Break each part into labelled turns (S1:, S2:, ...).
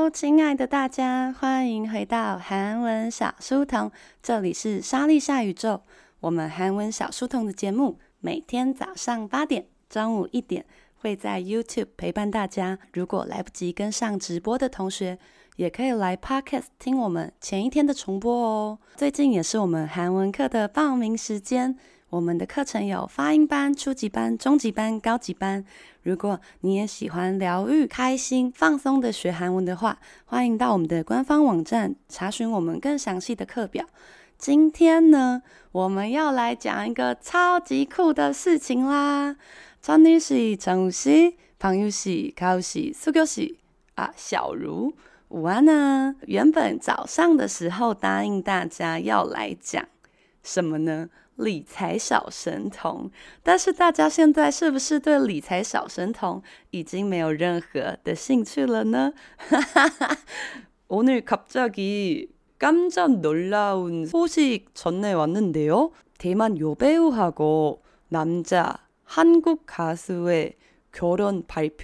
S1: 親愛的大家，歡迎回到韓文小書童，這裡是莎莉夏宇宙。我們韓文小書童的節目，每天早上8點、中午1點會在 YouTube 陪伴大家。如果來不及跟上直播的同學，也可以來 Podcast 聽我們前一天的重播哦。最近也是我們韓文課的報名時間。我們的課程有發音班、初級班、中級班、高級班。如果你也喜歡療癒、開心、放鬆的學韓文的話，歡迎到我們的官方網站查詢我們更詳細的課表。今天呢，我們要來講一個超級酷的事情啦！천일 씨、정우 씨、방유 씨、가우 씨、수교 씨啊，小如，午安啊！原本早上的時候答應大家要來講什麼呢？理財小神童，但是大家現在是不是對理財小神童已經沒有任何的興趣了呢？오늘 갑자기 깜짝 놀라운 소식 전해왔는데요. 대만 여배우하고 남자 한국 가수의 결혼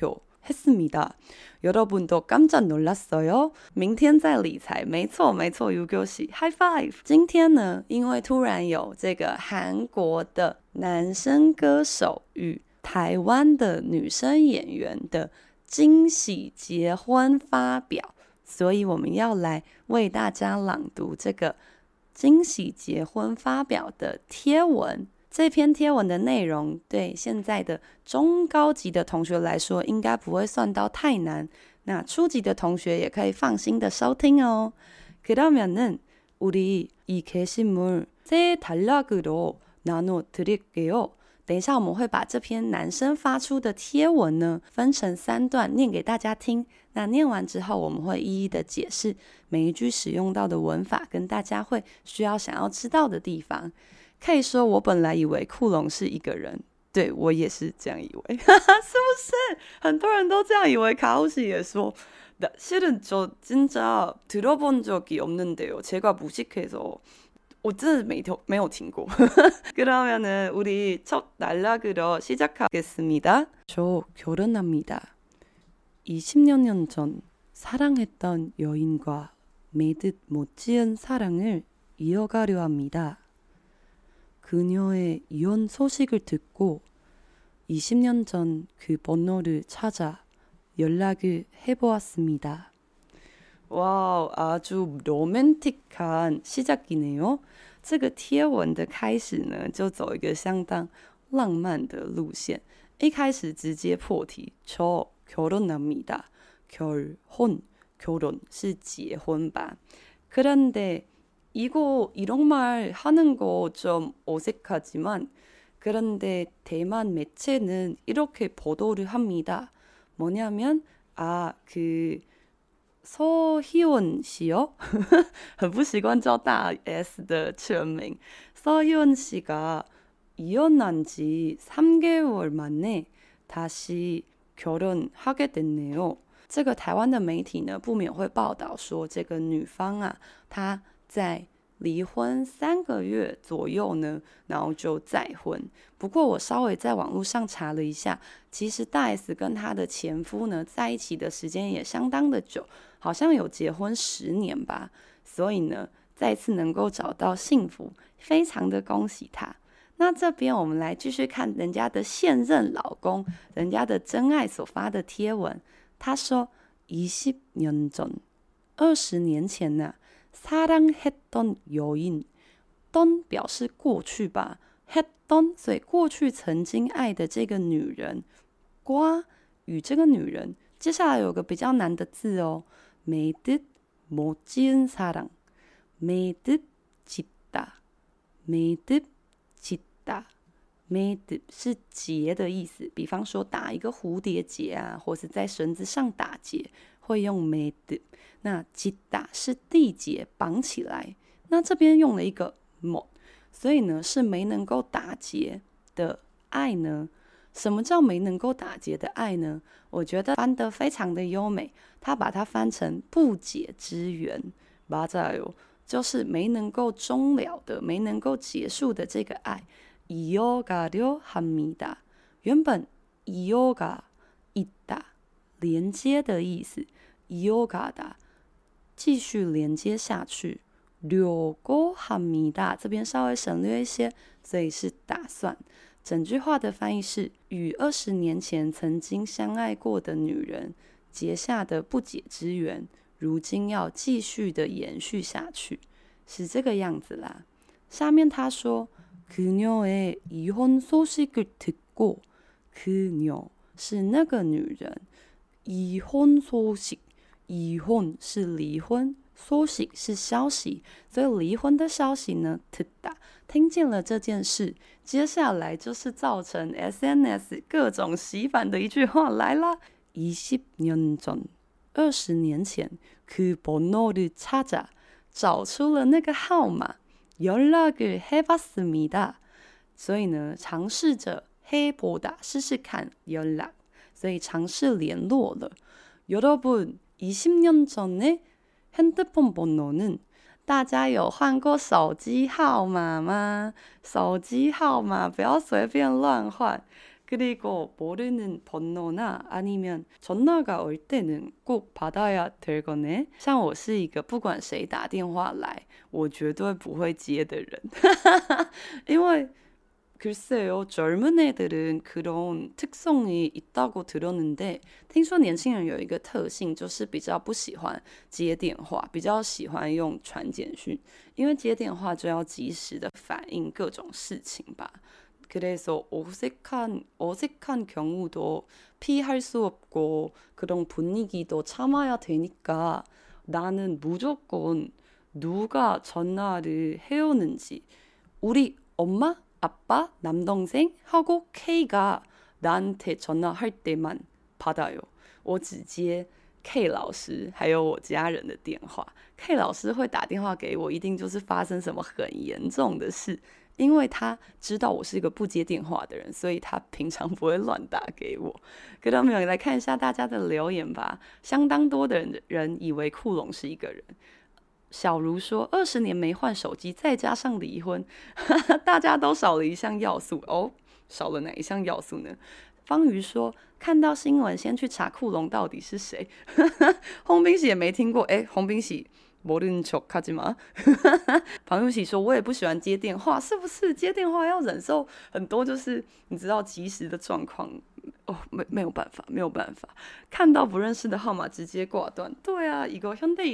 S1: 발표했습니다. 여러분도 깜짝 놀랐어요? 明天在理財，沒錯沒錯，유교시 High Five。今天呢，因為突然有這個韓國的男生歌手與台灣的女生演員的驚喜結婚發表，所以我們要來為大家朗讀這個驚喜結婚發表的貼文。這篇貼文的內容對現在的中高級的同學來說應該不會算到太難，那初級的同學也可以放心的收聽哦。그러면은 우리 이 게시물 세 단락으로 나눠 드릴게요。等一下我們會把這篇男生發出的貼文呢分成3段念給大家聽，那念完之後我們會一一的解釋每一句使用到的文法跟大家會需要想要知道的地方。可以說我本來以為庫龍是一個人，對，我也是這樣以為，是不是？很多人都這樣以為。가오씨也說실은 저 진짜 들어본 적이 없는데요. 제가 무식해서我真的沒有聽過。그러면은 우리 첫 단락으로 시작하겠습니다. 저 결혼합니다. 20년 전 사랑했던 여인과 매듭 못 지은 사랑을 이어가려 합니다. 그녀의 이혼 소식을 듣고 20년 전 그 번호를 찾아 연락을 해보았습니다. 와우, 아주 로맨틱한 시작이네요. 這個貼文的開始呢，就走一個相當浪漫的路線。一開始直接破題，저 결혼합니다. 결혼是結婚吧。그런데 이런 말 하는 거 좀 어색하지만 그런데 대만 매체는 이렇게 보도를 합니다. 뭐냐면 서희원 씨요? 很不習慣叫大 S 的全名。서희원 씨가 이혼한 지 3개월 만에 다시 결혼하게 됐네요. 這個台灣的媒體呢，不免會報道說，這個女方啊，她在離婚3個月左右呢，然後就再婚。不過我稍微在網絡上查了一下，其實大 S 跟她的前夫呢，在一起的時間也相當的久，好像有結婚10年吧。所以呢，再次能夠找到幸福，非常的恭喜她。那這邊我們來繼續看人家的現任老公，人家的真愛所發的貼文。他說20년 전 20年前呢사랑했던 여인， 던表示過去吧，했던所以過去曾經愛的這個女人，과與這個女人，接下來有個比較難的字哦，매듭 못 지은 사랑， 매듭 짓다， 매듭 짓다， 매듭是結的意思，比方說打一個蝴蝶結啊，或是在繩子上打結，會用매듭。那짓다是締結綁起來，那這邊用了一個못，所以呢是沒能夠打結的愛呢。什麼叫沒能夠打結的愛呢？我覺得翻得非常的優美，他把它翻成不解之緣，맞아요，就是沒能夠終了的，沒能夠結束的這個愛。이어가려 합니다。原本이어가 있다連接的意思。 이어가다繼續連接下去려고 합니다這邊稍微省略一些，所以是打算。整句話的翻譯是與20年前曾經相愛過的女人結下的不解之緣，如今要繼續的延續下去，是這個樣子啦。下面他說그녀의 이혼 소식을 듣고 그녀是那個女人이혼 소식 이혼是離婚소식是消息，所以離婚的消息呢듣다聽見了這件事，接下來就是造成 SNS 各種洗版的一句話來啦。20년 전 20年前그 번호를 찾아找出了那個號碼연락을 해봤습니다所以呢嘗試着해보다試試看연락所以嘗試聯絡了。여러분 20년 전에 핸드폰 번호는大家有換過手機號碼嗎？手機號碼不要隨便亂換。그리고 모르는 번호나 아니면 전화가 올 때는 꼭 받아야 될 거네. 像我是一個不管誰打電話來，我絕對不會接的人。因為글쎄요, 젊은 애들은 그런 특성이 있다고 들었는데 聽說年輕人有一個特性就是比較不喜歡接電話，比較喜歡用傳簡訊，因為接電話就要及時的反映各種事情吧。그래서 어색한 경우도 피할 수 없고 그런 분위기도 참아야 되니까 나는 무조건 누가 전화를 해오는지 우리 엄마? 아빠, 남동생 하고 K가 나한테 전화할 때만 받아요. 我只接 K 老師還有我家人的電話。K 老師會打電話給我，一定就是發生什麼很嚴重的事，因為他知道我是一個不接電話的人，所以他平常不會亂打給我。그러면來看一下大家的留言吧。相當多的人以為庫龍是一個人。小如說20年沒換手機，再加上離婚，大家都少了一項要素哦。少了哪一項要素呢？方瑜說看到新聞先去查庫龍到底是誰。洪冰喜也沒聽過，洪冰喜모르는 척 하지 마。龐玉喜說我也不喜歡接電話，是不是接電話要忍受很多就是你知道即時的狀況哦，沒有辦法，沒有辦法，看到不認識的號碼直接掛斷。對啊，이거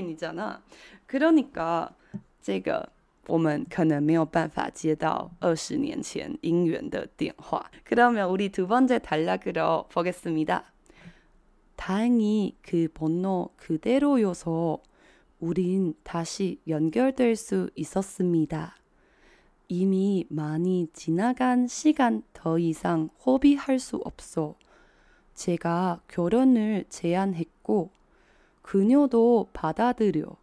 S1: 현대인이잖아。그러니까這個我們可能沒有辦法接到20年前姻緣的電話。그러면 우리 두 번째 단락으로 보겠습니다. 다행히 그 번호 그대로여서 우린 다시 연결될 수 있었습니다. 이미 많이 지나간 시간 더 이상 허비할 수 없어 제가 결혼을 제안했고 그녀도 받아들여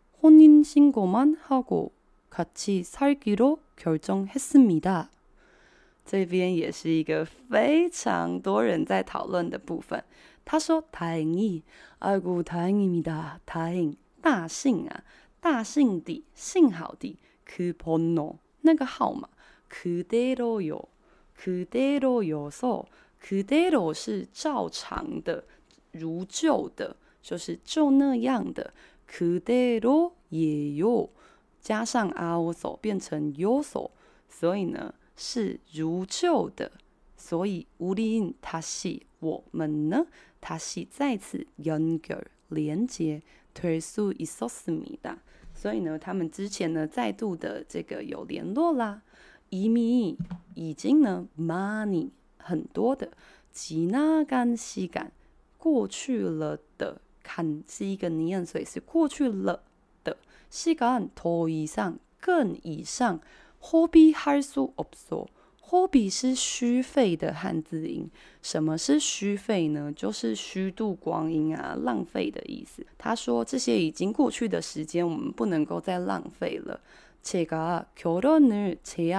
S1: 혼인신고만 하고 같이 살기로 결정했습니다. 這邊也是一個非常多人在討論的部分。他說다행히 아이고 다행입니다. 다행大幸啊，大幸地，幸好地，그 번호那個號碼그대로요 그대로여서 그대로是照常的，如舊的，就是就那樣的。그대로예요加上아오소變成요소，所以呢是如舊的。所以우린 다시我們呢다시再次연결連接。될 수 있었습니다。所以呢，他們之前呢再度的這個有聯絡啦。이미已經呢많이很多的지나간 시간過去了的，看是一個念，所以是過去了的。시간 더 이상更以上허비할 수 없어。허비是虛費的漢字音。什麼是虛費呢？就是虛度光陰啊，浪費的意思。他說這些已經過去的時間，我們不能夠再浪費了。제가 결혼을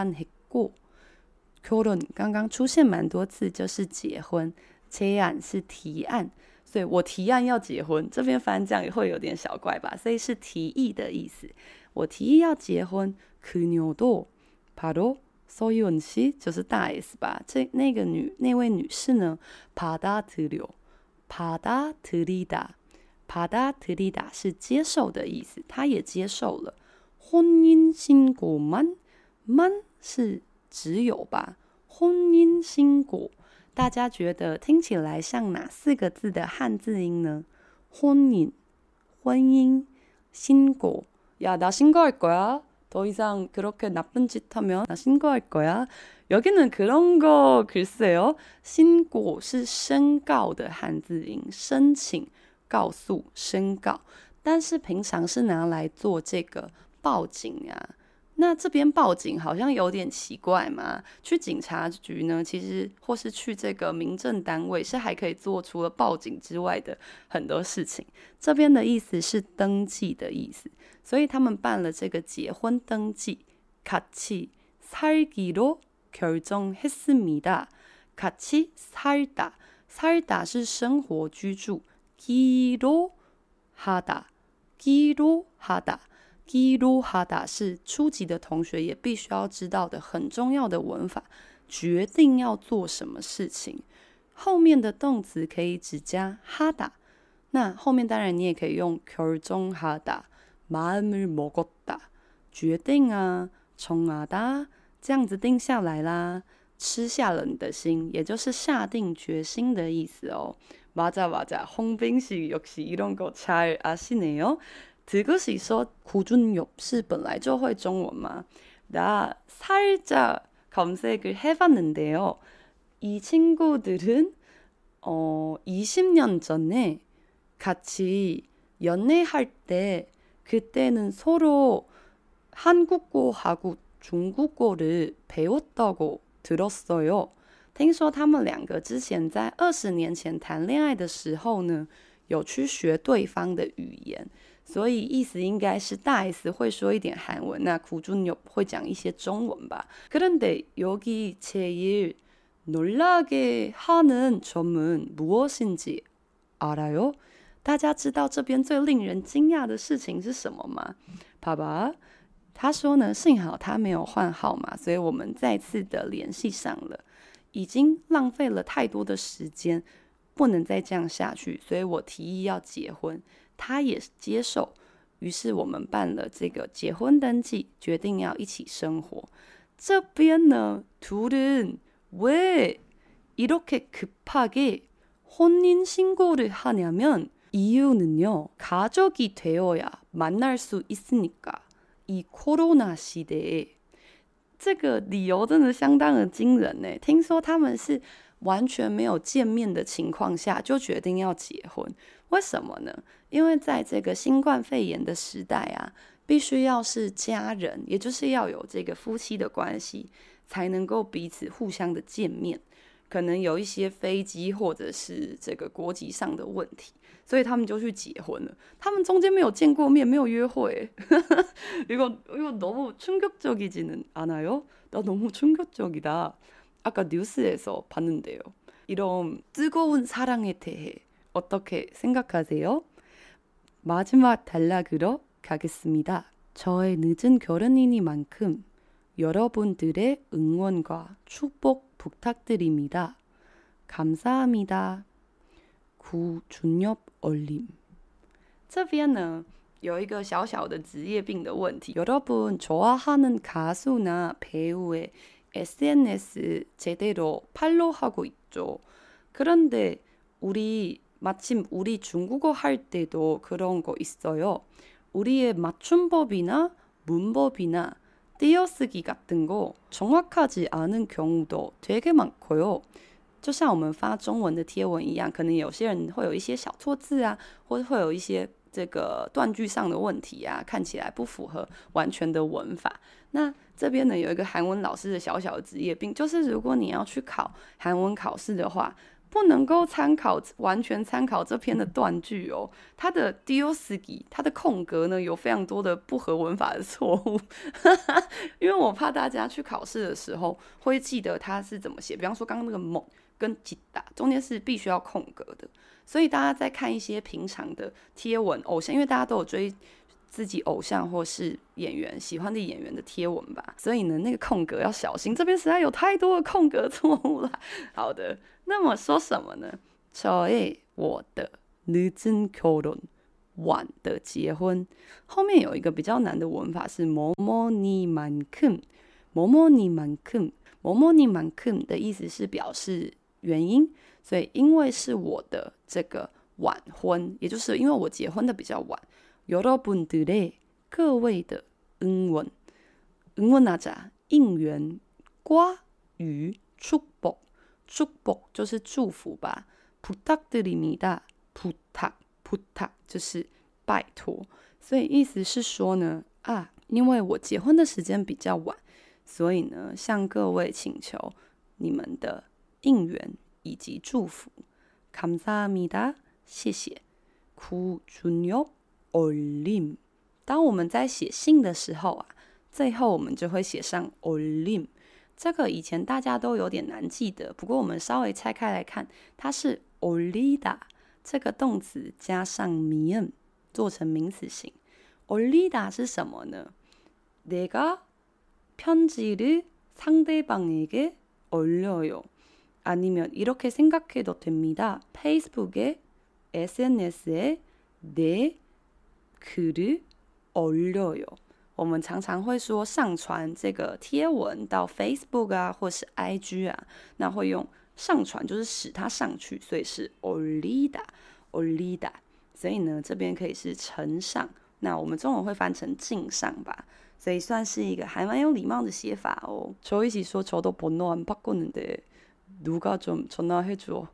S1: 제안했고，결혼剛剛出現蠻多次，就是結婚。제안是提案，所以我提案要結婚。這邊翻這樣也會有點小怪吧，所以是提議的意思。我提議要結婚。그녀도 바로 서유은 씨就是大 S 吧，那位女士呢，받아들여，받아들이다， 받아들이다是接受的意思，他也接受了。혼인신고만 만是只有吧？혼인신고大家觉得听起来像哪4個字的漢字音呢？혼인婚姻신고 야, 나 신고할 거야. 더 이상 그렇게 나쁜 짓 하면 나 신고할 거야. 여기는 그런 거 글쎄요. 신고是申告的漢字音，申請、告訴、申告。但是平常是拿來做這個報警啊。那這邊報警好像有點奇怪嘛。去警察局呢，其實或是去這個民政單位是還可以做除了報警之外的很多事情。這邊的意思是登記的意思，所以他們辦了這個結婚登記。같이 살기로 결정했습니다. 같이 살다， 살다是生活居住。기로 하다， 기로 하다。기로하다是初級的同學也必須要知道的很重要的文法，決定要做什麼事情，後面的動詞可以只加하다，那後面當然你也可以用결정하다，마음을 먹었다，決定啊，정하다，這樣子定下來啦，吃下了你的心，也就是下定決心的意思哦。맞아 맞아，홍빈 씨 역시 이런 거 잘 아시네요。드그시说구준엽是本来就会中文吗？ 나 살짝 검색을 해봤는데요. 이 친구들은 20년 전에 같이 연애할 때 그때는 서로 한국어하고 중국어를 배웠다고 들었어요. 聽說他們兩個之前在20年前談戀愛的時候呢，有去學對方的語言。所以意思應該是大 S 會說一點韓文，那구준엽會講一些中文吧。그런데 여기 제일 놀라게 하는 점은 무엇인지 알아요? 大家知道這邊最令人驚訝的事情是什麼嗎？爸爸，他說呢，幸好他沒有換號碼，所以我們再次的聯繫上了。已經浪費了太多的時間，不能再這樣下去，所以我提議要結婚。他也接受，於是我們辦了這個結婚登記，決定要一起生活。這邊呢，둘은 왜 이렇게 급하게 혼인신고를 하냐면 이유는요, 가족이 되어야 만날 수 있으니까. 이 코로나 시대에 這個理由真的相當的驚人呢。聽說他們是完全沒有見面的情況下就決定要結婚，為什麼呢？因為在這個新冠肺炎的時代啊，必須要是家人，也就是要有這個夫妻的關係，才能夠彼此互相的見面。可能有一些飛機或者是這個國籍上的問題，所以他們就去結婚了。他們中間沒有見過面，沒有約會。이거 너무 충격적이지는 않아요? 나 너무 충격적이다. 아까 뉴스에서 봤는데요. 이런 뜨거운 사랑에 대해 어떻게 생각하세요? 마지막 단락으로 가겠습니다. 저의 늦은 결혼이니만큼 여러분들의 응원과 축복 부탁드립니다. 감사합니다. 구준엽 얼림. 這邊呢有一個小小的職業病的問題. 여러분 좋아하는 가수나 배우의 SNS 제대로 팔로우하고 있죠. 그런데 마침 우리 중국어 할 때도 그런 거 있어요. 우리의 맞춤법이나 문법이나 띄어쓰기 같은 거 정확하지 않은 경우도 되게 많고요. 就像我们发中文的貼文一樣，可能有些人會有一些小錯字啊，或者會有一些這個斷句上的問題啊，看起來不符合完全的文法。那這邊呢有一個韓文老師的小小的職業病，就是如果你要去考韓文考試的話，不能夠完全參考這篇的斷句哦。它的띄어쓰기，它的空格呢有非常多的不合文法的錯誤，因為我怕大家去考試的時候會記得它是怎麼寫。比方說剛剛那個猛跟吉打中間是必須要空格的，所以大家在看一些平常的貼文偶像，因為大家都有追自己偶像或是演員喜歡的演員的貼文吧，所以呢那個空格要小心，這邊實在有太多的空格錯誤了。好的，那麼說什麼呢？我的늦은 결혼 晚的結婚，後面有一個比較難的文法是뭐뭐니만큼，뭐뭐니만큼的意思是表示原因，所以因為是我的這個晚婚，也就是因為我結婚的比較晚，여러분들의各位的응원하자應援과與축복就是祝福吧，부탁드립니다 부탁就是拜託，所以意思是說呢，因為我結婚的時間比較晚，所以呢，向各位請求你們的應援以及祝福。감사합니다，謝謝。구준엽 올림，當我們在寫信的時候最後我們就會寫上 올림， 這個以前大家都有點難記得，不過我們稍微拆開來看，它是 올리다。這個動詞加上미음做成名詞型。올리다是什麼呢？ 내가 편지를 상대방에게 올려요. 아니면 이렇게 생각해도 됩니다. 페이스북에, SNS에 내 글을 올려요. 我們常常會說上傳這個貼文到 Facebook 或是 IG 那會用上傳就是使它上去，所以是 올리다。所以呢，這邊可以是呈上，那我們中文會翻成敬上吧，所以算是一個還蠻有禮貌的寫法哦。저一起說저도 번호 안 바꿨는데 누가 좀 전화해줘.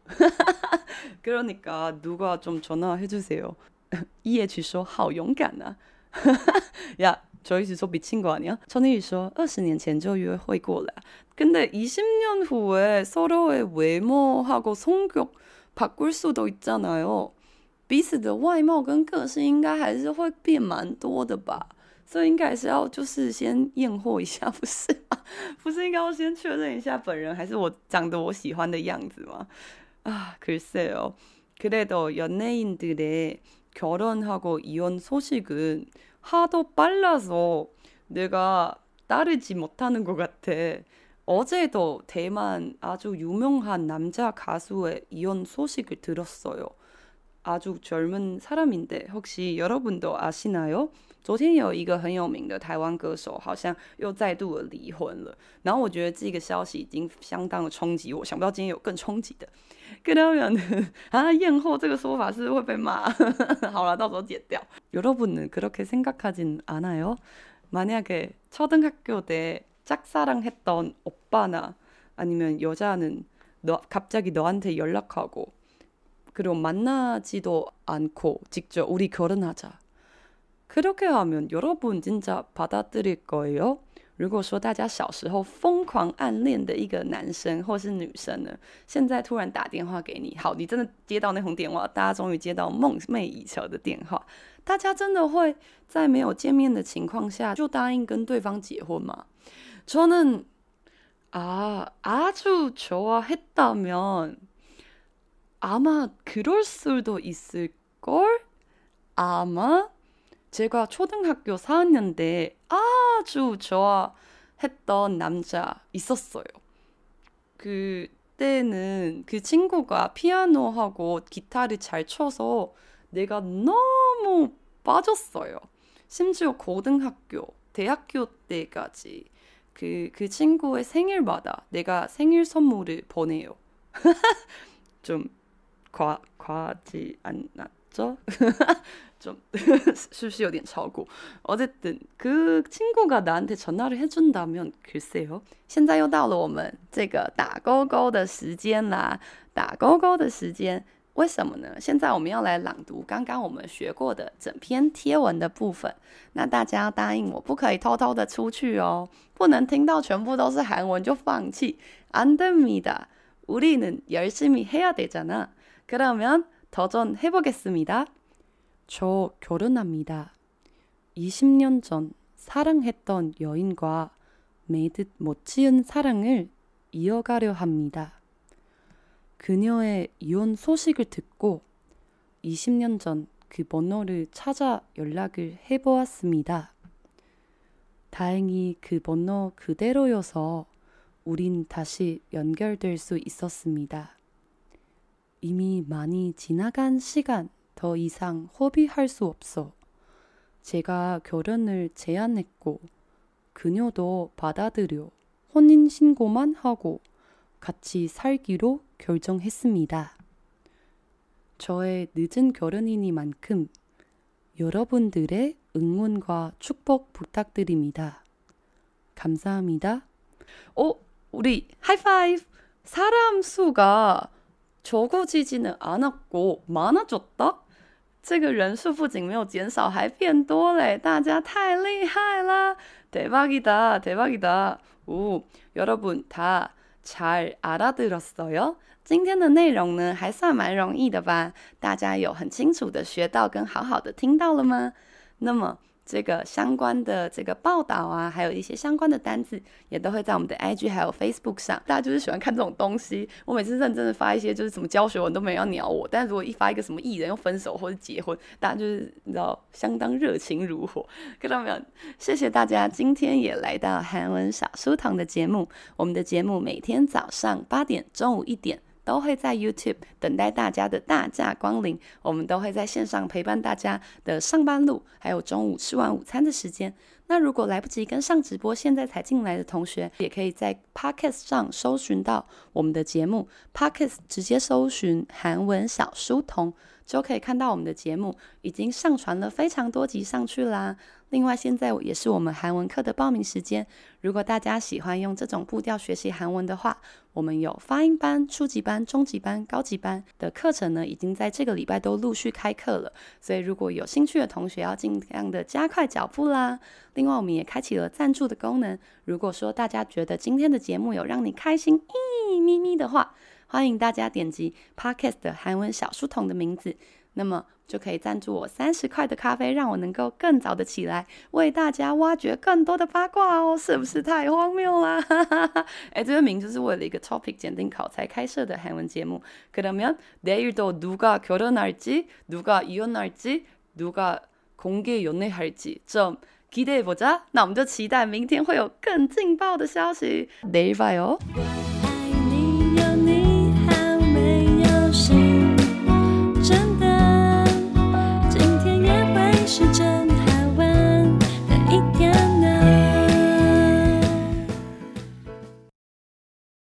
S1: 그러니까 누가 좀 전화해주세요. 이해주說好勇敢啊。야, 저一起說미친 거 아니야? 천일이說20年前就約會過了。근데 20년 후에 서로의 외모하고 성격 바꿀 수도 있잖아요. 彼此的外貌跟個性應該還是會變蠻多的吧，所以應該還是要就是先驗貨一下，不是嗎？不是應該要先確認一下本人還是我長得我喜歡的樣子嗎？글쎄요. 그래도 연예인들의 결혼하고 이혼 소식은 하도 빨라서 내가 따르지 못하는 것 같아. 어제도 대만 아주 유명한 남자 가수의 이혼 소식을 들었어요. 아주 젊은 사람인데 혹시 여러분도 아시나요? 昨天有一個很有名的台灣歌手好像又再度的離婚了，然後我覺得這個消息已經相當的衝擊我，想不到今天有更衝擊的。그러면驗貨這個說法是會被罵。好了，到時候剪掉。여러분은 그렇게 생각하진 않아요? 만약에 초등학교 때 짝사랑했던 오빠나 아니면 여자는 갑자기 너한테 연락하고 그리고 만나지도 않고 직접 우리 결혼하자. 그렇게 하면 여러분 진짜 받아들일 거예요? 如果说大家小时候瘋狂暗戀的一個男生或是女生呢，現在突然打電話給你，好，你真的接到那通電話，大家終於接到夢寐以求的電話，大家真的會在沒有見面的情況下就答應跟對方結婚嗎？ 저는 아주 좋아했다면 아마 그럴 수도 있을걸? 아마 제가 초등학교 4학년 때 아주 좋아했던 남자 있었어요. 그때는 그 친구가 피아노하고 기타를 잘 쳐서 내가 너무 빠졌어요. 심지어 고등학교, 대학교 때까지 그 친구의 생일마다 내가 생일 선물을 보내요. 좀 과하지 않았죠? 좀是不是有点超過 어쨌든 그 친구가 나한테 전화를 해준다면 글쎄요. 现在又到了我们這個打勾勾的時間啦，打勾勾的時間為什麼呢？現在我們要來朗讀剛剛我們學過的整篇貼文的部分，那大家要答應我不可以偷偷的出去哦，不能聽到全部都是韓文就放棄。안 됩니다. 우리는 열심히 해야 되잖아. 그러면 도전해보겠습니다. 저 결혼합니다. 20년 전 사랑했던 여인과 매듭 못 지은 사랑을 이어가려 합니다. 그녀의 이혼 소식을 듣고 20년 전 그 번호를 찾아 연락을 해보았습니다. 다행히 그 번호 그대로여서 우린 다시 연결될 수 있었습니다. 이미 많이 지나간 시간 더 이상 허비할 수 없어. 제가 결혼을 제안했고 그녀도 받아들여 혼인신고만 하고 같이 살기로 결정했습니다. 저의 늦은 결혼이니만큼 여러분들의 응원과 축복 부탁드립니다. 감사합니다. 우리 하이파이브! 사람 수가 적어지지는 않았고 많아졌다? 这个人数不仅没有减少还变多了，大家太厉害啦！ 대박이다, 대박이다. 오, 여러분 다 잘 알아들었어요? 今天的内容呢还算蛮容易的吧？大家有很清楚的学到跟好好的听到了吗？那么这个相關的這個報道啊，還有一些相關的單字，也都會在我們的 IG 還有 Facebook 上。大家就是喜歡看這種東西。我每次認真的發一些就是什麼教學文，都沒人要鳥我。但是如果一發一個什麼藝人又分手或者結婚，大家就是你知道相當熱情如火。看到沒有？謝謝大家今天也來到韓文小書童的節目。我們的節目每天早上8點、中午1點。都會在 YouTube 等待大家的大駕光臨，我們都會在線上陪伴大家的上班路，還有中午吃完午餐的時間。那如果來不及跟上直播，現在才進來的同學，也可以在 Podcast 上搜尋到我們的節目。Podcast 直接搜尋韓文小書童，就可以看到我們的節目已經上傳了非常多集上去啦。另外，現在也是我們韓文課的報名時間。如果大家喜歡用這種步調學習韓文的話，我們有發音班、初級班、中級班、高級班的課程呢，已經在這個禮拜都陸續開課了。所以，如果有興趣的同學，要盡量的加快腳步啦。另外，我們也開啟了贊助的功能。如果說大家覺得今天的節目有讓你開心咪咪的話，歡迎大家點擊 Podcast 的韓文小書童的名字，那麼就可以贊助我30塊的咖啡，讓我能夠更早的起來，為大家挖掘更多的八卦哦，是不是太荒謬啦？這個名就是為了一個 topic檢定考才開設的韓文節目。그러면 내일도 누가 결혼할지, 누가 이혼할지, 누가 공개 연애할지 좀 기대해보자. 那我們就期待明天會有更勁爆的消息。내일 봐요。